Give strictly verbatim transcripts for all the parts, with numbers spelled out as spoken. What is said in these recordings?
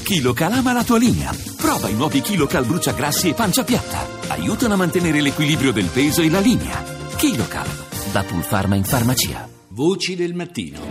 KiloCal ama la tua linea. Prova i nuovi KiloCal bruciagrassi e pancia piatta. Aiutano a mantenere l'equilibrio del peso e la linea. KiloCal, da Pulpharma in farmacia. Voci del mattino.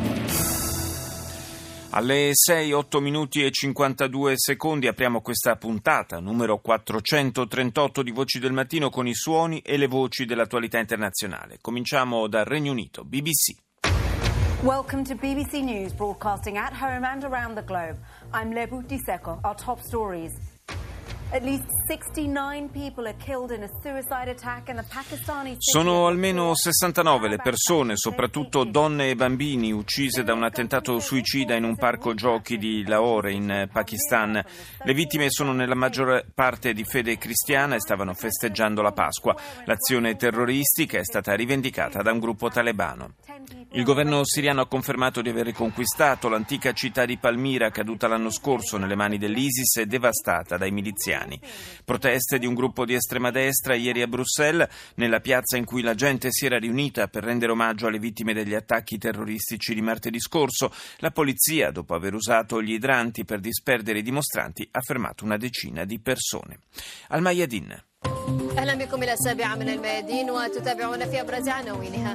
Alle sei, otto minuti e cinquantadue secondi apriamo questa puntata numero quattrocentotrentotto di Voci del Mattino con i suoni e le voci dell'attualità internazionale. Cominciamo dal Regno Unito, B B C. Welcome to B B C News, broadcasting at home and around the globe. I'm Lebu Diseko. Our top stories. At least sixty-nine people are killed in a suicide attack in the Pakistani city. Sono almeno sessantanove le persone, soprattutto donne e bambini, uccise da un attentato suicida in un parco giochi di Lahore in Pakistan. Le vittime sono nella maggior parte di fede cristiana e stavano festeggiando la Pasqua. L'azione terroristica è stata rivendicata da un gruppo talebano. Il governo siriano ha confermato di aver riconquistato l'antica città di Palmira, caduta l'anno scorso nelle mani dell'ISIS e devastata dai miliziani. Proteste di un gruppo di estrema destra ieri a Bruxelles, nella piazza in cui la gente si era riunita per rendere omaggio alle vittime degli attacchi terroristici di martedì scorso. La polizia, dopo aver usato gli idranti per disperdere i dimostranti, ha fermato una decina di persone. Al Mayadin. أهلا بكم إلى السابعة من الميادين وتتابعون في أبرز عناوينها.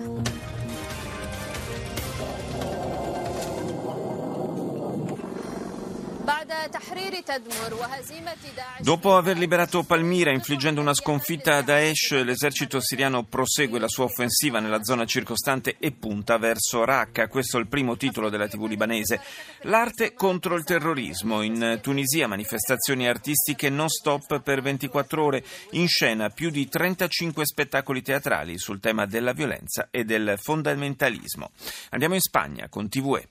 Dopo aver liberato Palmira infliggendo una sconfitta a Daesh, l'esercito siriano prosegue la sua offensiva nella zona circostante e punta verso Raqqa. Questo è il primo titolo della tivù libanese. L'arte contro il terrorismo. In Tunisia manifestazioni artistiche non stop per ventiquattro ore. In scena più di trentacinque spettacoli teatrali sul tema della violenza e del fondamentalismo. Andiamo in Spagna con T V E.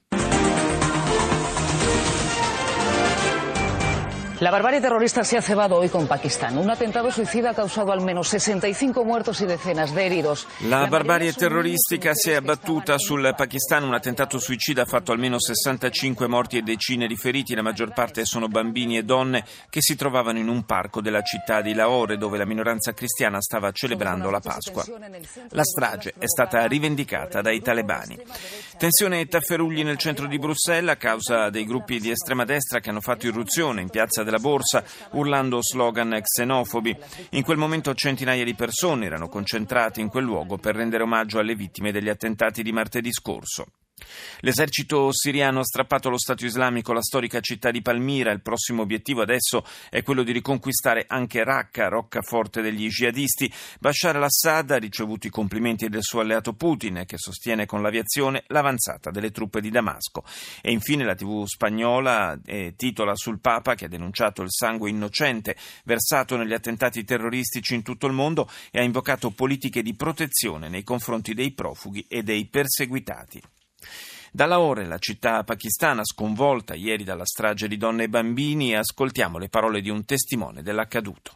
La barbarie terrorista se ha cebado hoy con Pakistán. Un attentato suicida ha causado al menos sesenta y cinco muertos y decenas de heridos. La barbarie terroristica si è abbattuta sul Pakistan. Un attentato suicida ha fatto almeno sessantacinque morti e decine di feriti. La maggior parte sono bambini e donne che si trovavano in un parco della città di Lahore, dove la minoranza cristiana stava celebrando la Pasqua. La strage è stata rivendicata dai talebani. Tensione e tafferugli nel centro di Bruxelles a causa dei gruppi di estrema destra che hanno fatto irruzione in piazza della Borsa urlando slogan xenofobi. In quel momento centinaia di persone erano concentrate in quel luogo per rendere omaggio alle vittime degli attentati di martedì scorso. L'esercito siriano ha strappato allo Stato islamico la storica città di Palmira. Il prossimo obiettivo adesso è quello di riconquistare anche Raqqa, roccaforte degli jihadisti. Bashar al-Assad ha ricevuto i complimenti del suo alleato Putin, che sostiene con l'aviazione l'avanzata delle truppe di Damasco. E infine la tivù spagnola eh, titola sul Papa, che ha denunciato il sangue innocente versato negli attentati terroristici in tutto il mondo e ha invocato politiche di protezione nei confronti dei profughi e dei perseguitati. Da Lahore, la città pakistana sconvolta ieri dalla strage di donne e bambini, ascoltiamo le parole di un testimone dell'accaduto.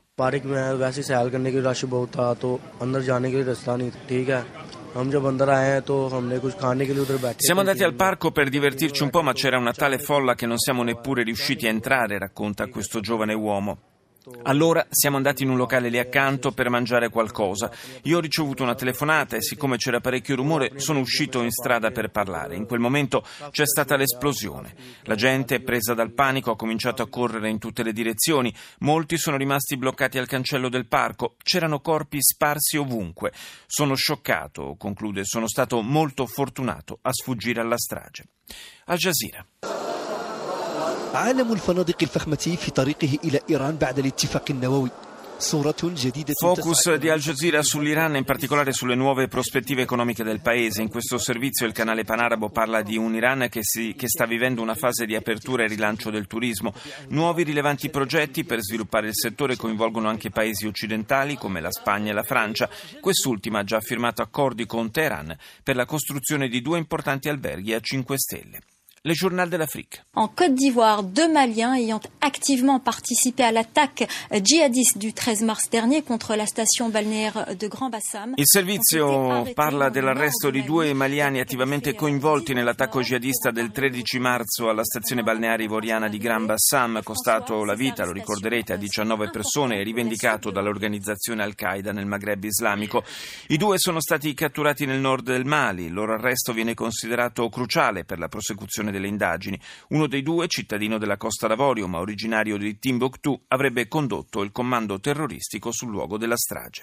Siamo andati al parco per divertirci un po', ma c'era una tale folla che non siamo neppure riusciti a entrare, racconta questo giovane uomo. Allora siamo andati in un locale lì accanto per mangiare qualcosa. Io ho ricevuto una telefonata e siccome c'era parecchio rumore sono uscito in strada per parlare. In quel momento c'è stata l'esplosione. La gente, presa dal panico, ha cominciato a correre in tutte le direzioni. Molti sono rimasti bloccati al cancello del parco. C'erano corpi sparsi ovunque. Sono scioccato, conclude, sono stato molto fortunato a sfuggire alla strage. Al Jazeera. عالم الفنادق الفخمة في طريقه إلى إيران بعد الاتفاق النووي. Focus di Al Jazeera sull'Iran e in particolare sulle nuove prospettive economiche del paese. In questo servizio il canale panarabo parla di un Iran che, si, che sta vivendo una fase di apertura e rilancio del turismo. Nuovi rilevanti progetti per sviluppare il settore coinvolgono anche paesi occidentali come la Spagna e la Francia. Quest'ultima ha già firmato accordi con Teheran per la costruzione di due importanti alberghi a cinque stelle. Le Journal de l'Afrique. En Côte d'Ivoire, deux Maliens ayant activement participé à l'attaque djihadiste du treize mars dernier contre la station balnéaire de Grand Bassam. Il servizio parla dell'arresto di due maliani attivamente coinvolti nell'attacco jihadista del tredici marzo alla stazione balneare ivoriana di Grand Bassam, costato la vita, lo ricorderete, a diciannove persone e rivendicato dall'organizzazione Al-Qaeda nel Maghreb islamico. I due sono stati catturati nel nord del Mali. Il loro arresto viene considerato cruciale per la prosecuzione delle indagini. Uno dei due, cittadino della Costa d'Avorio ma originario di Timbuktu, avrebbe condotto il comando terroristico sul luogo della strage.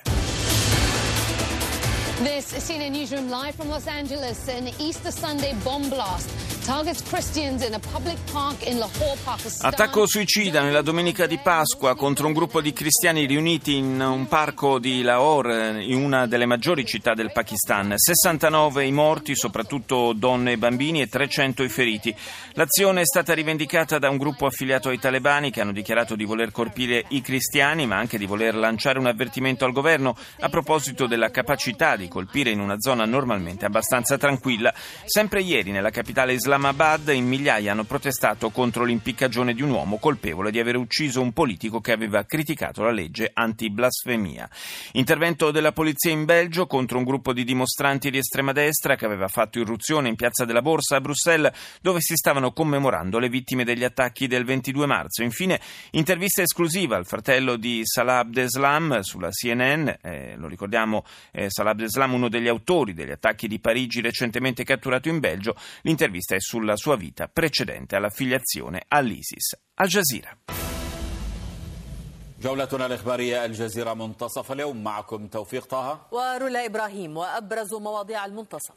This is C N N Newsroom live from Los Angeles. An Easter Sunday bomb blast targets Christians in a public park in Lahore, Pakistan. Attacco suicida nella domenica di Pasqua contro un gruppo di cristiani riuniti in un parco di Lahore, in una delle maggiori città del Pakistan. sessantanove i morti, soprattutto donne e bambini, e trecento i feriti. L'azione è stata rivendicata da un gruppo affiliato ai talebani che hanno dichiarato di voler colpire i cristiani, ma anche di voler lanciare un avvertimento al governo a proposito della capacità di colpire in una zona normalmente abbastanza tranquilla. Sempre ieri nella capitale Islamabad in migliaia hanno protestato contro l'impiccagione di un uomo colpevole di aver ucciso un politico che aveva criticato la legge anti-blasfemia. Intervento della polizia in Belgio contro un gruppo di dimostranti di estrema destra che aveva fatto irruzione in Piazza della Borsa a Bruxelles, dove si stavano commemorando le vittime degli attacchi del ventidue marzo. Infine, intervista esclusiva al fratello di Salah Abdeslam sulla C N N. Eh, lo ricordiamo, eh, Salah Abdeslam, uno degli autori degli attacchi di Parigi recentemente catturato in Belgio. L'intervista è sulla sua vita precedente all'affiliazione all'ISIS. Al Jazeera. جولتنا الإخبارية الجزيرة منتصف اليوم معكم توفيق طه ورولا إبراهيم وأبرز مواضيع المنتصف.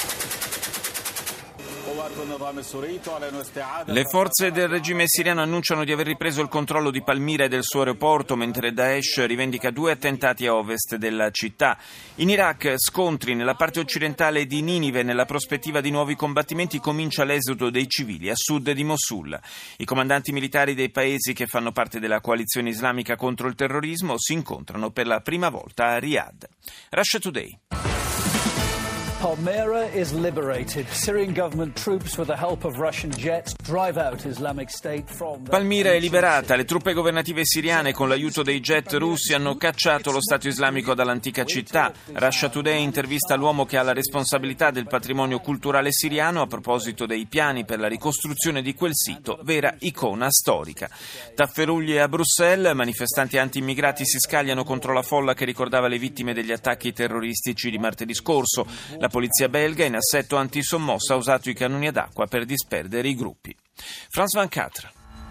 Le forze del regime siriano annunciano di aver ripreso il controllo di Palmira e del suo aeroporto, mentre Daesh rivendica due attentati a ovest della città. In Iraq, scontri nella parte occidentale di Ninive. Nella prospettiva di nuovi combattimenti comincia l'esodo dei civili a sud di Mosul. I comandanti militari dei paesi che fanno parte della coalizione islamica contro il terrorismo si incontrano per la prima volta a Riyadh. Russia Today. Palmyra is liberated. Syrian government troops with the help of Russian jets drive out Islamic State from the... Palmira è liberata. Le truppe governative siriane con l'aiuto dei jet russi hanno cacciato lo Stato islamico dall'antica città. Russia Today intervista l'uomo che ha la responsabilità del patrimonio culturale siriano a proposito dei piani per la ricostruzione di quel sito, vera icona storica. Tafferuglie a Bruxelles, manifestanti anti-immigrati si scagliano contro la folla che ricordava le vittime degli attacchi terroristici di martedì scorso. La polizia belga in assetto antisommossa ha usato i cannoni ad acqua per disperdere i gruppi. France ventiquattro.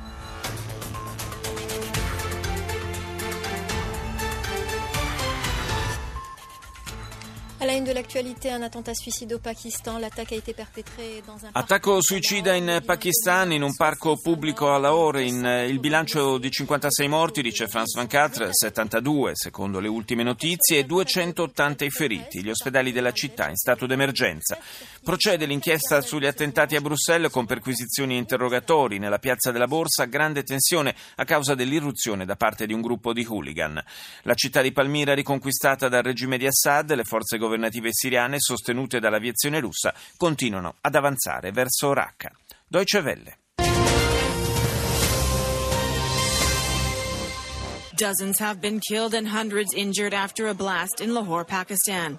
À la une de l'actualité, un attentat suicide au Pakistan. L'attaque a été perpétrée dans un Attacco suicida in Pakistan, in un parco pubblico a Lahore. In, il bilancio di cinquantasei morti, dice France ventiquattro, settantadue secondo le ultime notizie, e duecentottanta i feriti. Gli ospedali della città in stato d'emergenza. Procede l'inchiesta sugli attentati a Bruxelles con perquisizioni e interrogatori. Nella piazza della Borsa grande tensione a causa dell'irruzione da parte di un gruppo di hooligan. La città di Palmira riconquistata dal regime di Assad, le forze governative siriane sostenute dall'aviazione russa continuano ad avanzare verso Raqqa. Deutsche Welle. Dozens have been killed and hundreds injured after a blast in Lahore, Pakistan.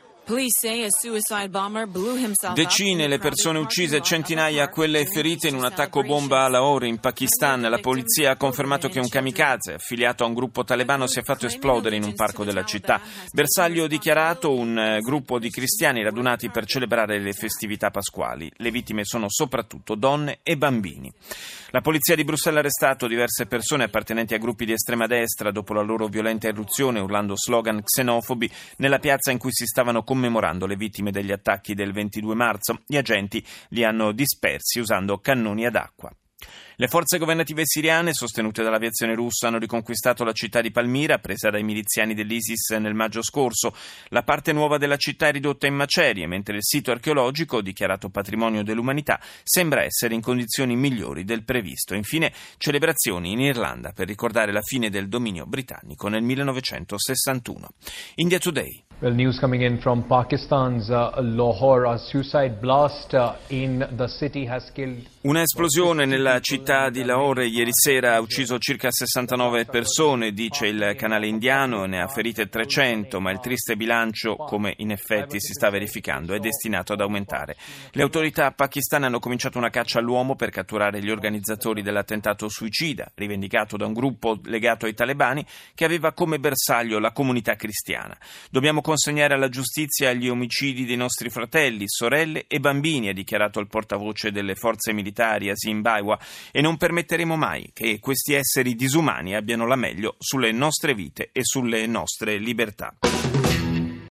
Decine le persone uccise e centinaia quelle ferite in un attacco bomba a Lahore in Pakistan. La polizia ha confermato che un kamikaze affiliato a un gruppo talebano si è fatto esplodere in un parco della città. Bersaglio dichiarato un gruppo di cristiani radunati per celebrare le festività pasquali. Le vittime sono soprattutto donne e bambini. La polizia di Bruxelles ha arrestato diverse persone appartenenti a gruppi di estrema destra dopo la loro violenta irruzione urlando slogan xenofobi nella piazza in cui si stavano commemorando le vittime degli attacchi del ventidue marzo. Gli agenti li hanno dispersi usando cannoni ad acqua. Le forze governative siriane, sostenute dall'aviazione russa, hanno riconquistato la città di Palmira, presa dai miliziani dell'ISIS nel maggio scorso. La parte nuova della città è ridotta in macerie, mentre il sito archeologico, dichiarato patrimonio dell'umanità, sembra essere in condizioni migliori del previsto. Infine, celebrazioni in Irlanda per ricordare la fine del dominio britannico nel millenovecentosessantuno. India Today. Well, news coming in from Pakistan's uh, Lahore, a suicide blast uh, in the city has killed... Una esplosione nella città di Lahore ieri sera ha ucciso circa sessantanove persone, dice il canale indiano, ne ha ferite trecento, ma il triste bilancio, come in effetti si sta verificando, è destinato ad aumentare. Le autorità pakistane hanno cominciato una caccia all'uomo per catturare gli organizzatori dell'attentato suicida, rivendicato da un gruppo legato ai talebani che aveva come bersaglio la comunità cristiana. Dobbiamo consegnare alla giustizia gli omicidi dei nostri fratelli, sorelle e bambini, ha dichiarato il portavoce delle forze militari Asim Baiwa, e non permetteremo mai che questi esseri disumani abbiano la meglio sulle nostre vite e sulle nostre libertà.